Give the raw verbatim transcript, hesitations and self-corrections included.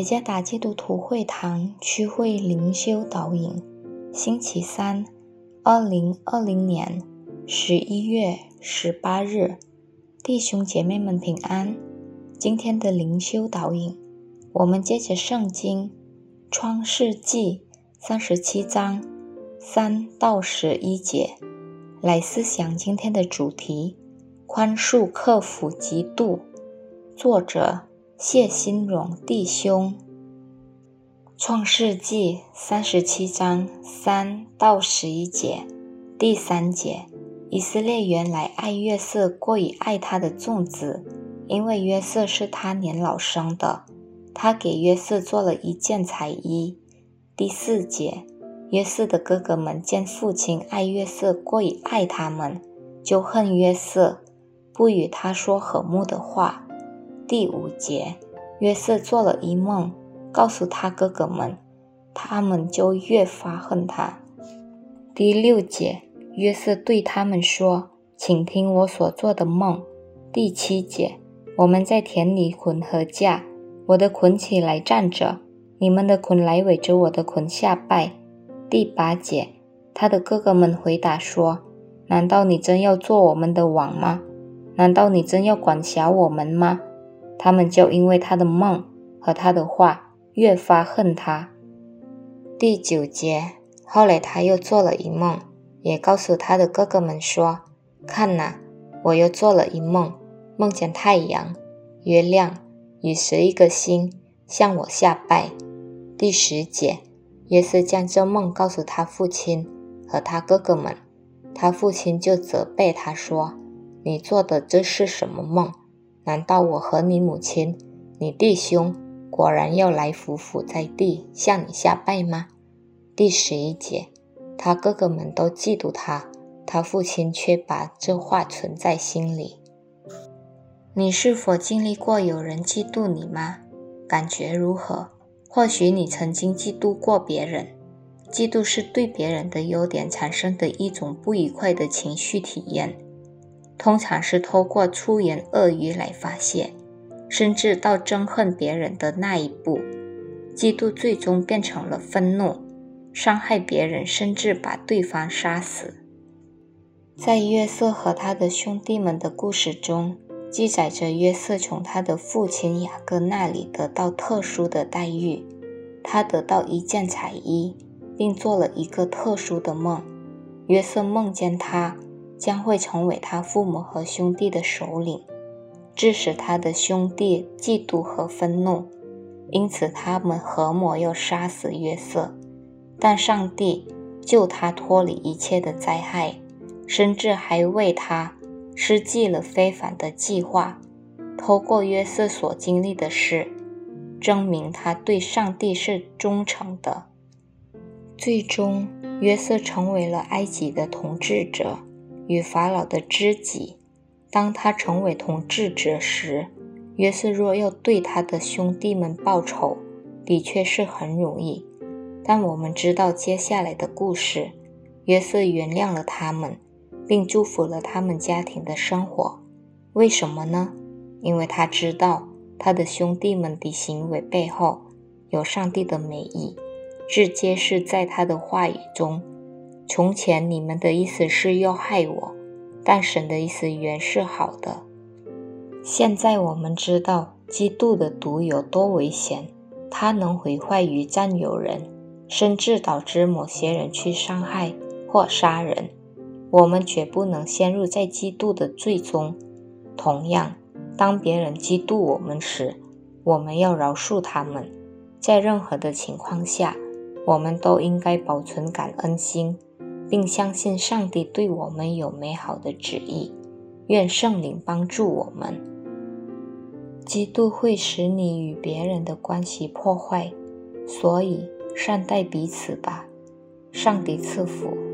耶加达基督徒会堂区会灵修导引，星期三，二零二零年十一月十八日，弟兄姐妹们平安。今天的灵修导引，我们接着圣经创世纪三十七章三到十一节来思想今天的主题：宽恕克服嫉妒。作者谢新荣弟兄。创世纪三十七章三到十一节，第三节，以色列原来爱约瑟过于爱他的众子，因为约瑟是他年老生的，他给约瑟做了一件彩衣。第四节，约瑟的哥哥们见父亲爱约瑟过于爱他们，就恨约瑟，不与他说和睦的话。第五节，约瑟做了一梦，告诉他哥哥们，他们就越发恨他。第六节，约瑟对他们说，请听我所做的梦。第七节，我们在田里捆禾架，我的捆起来站着，你们的捆来围着我的捆下拜。第八节，他的哥哥们回答说，难道你真要做我们的王吗？难道你真要管辖我们吗？他们就因为他的梦和他的话越发恨他。第九节，后来他又做了一梦，也告诉他的哥哥们说，看哪，我又做了一梦，梦见太阳、月亮与十一个星向我下拜。第十节，约瑟将这梦告诉他父亲和他哥哥们，他父亲就责备他说，你做的这是什么梦？难道我和你母亲、你弟兄果然要来匍匐在地向你下拜吗？第十一节，他哥哥们都嫉妒他，他父亲却把这话存在心里。你是否经历过有人嫉妒你吗？感觉如何？或许你曾经嫉妒过别人。嫉妒是对别人的优点产生的一种不愉快的情绪体验，通常是透过粗言恶语来发泄，甚至到憎恨别人的那一步。嫉妒最终变成了愤怒，伤害别人，甚至把对方杀死。在约瑟和他的兄弟们的故事中，记载着约瑟从他的父亲雅各那里得到特殊的待遇，他得到一件彩衣，并做了一个特殊的梦。约瑟梦见他将会成为他父母和兄弟的首领，致使他的兄弟嫉妒和愤怒，因此他们合谋要杀死约瑟。但上帝救他脱离一切的灾害，甚至还为他施计了非凡的计划。透过约瑟所经历的事，证明他对上帝是忠诚的。最终，约瑟成为了埃及的统治者，与法老的知己。当他成为统治者时，约瑟若要对他的兄弟们报仇，的确是很容易。但我们知道接下来的故事，约瑟原谅了他们，并祝福了他们家庭的生活。为什么呢？因为他知道他的兄弟们的行为背后有上帝的美意，这揭示在他的话语中，从前你们的意思是要害我，但神的意思原是好的。现在我们知道嫉妒的毒有多危险，它能毁坏与占有人，甚至导致某些人去伤害或杀人。我们绝不能陷入在嫉妒的罪中。同样，当别人嫉妒我们时，我们要饶恕他们。在任何的情况下，我们都应该保存感恩心，并相信上帝对我们有美好的旨意。愿圣灵帮助我们。嫉妒会使你与别人的关系破坏，所以善待彼此吧。上帝赐福。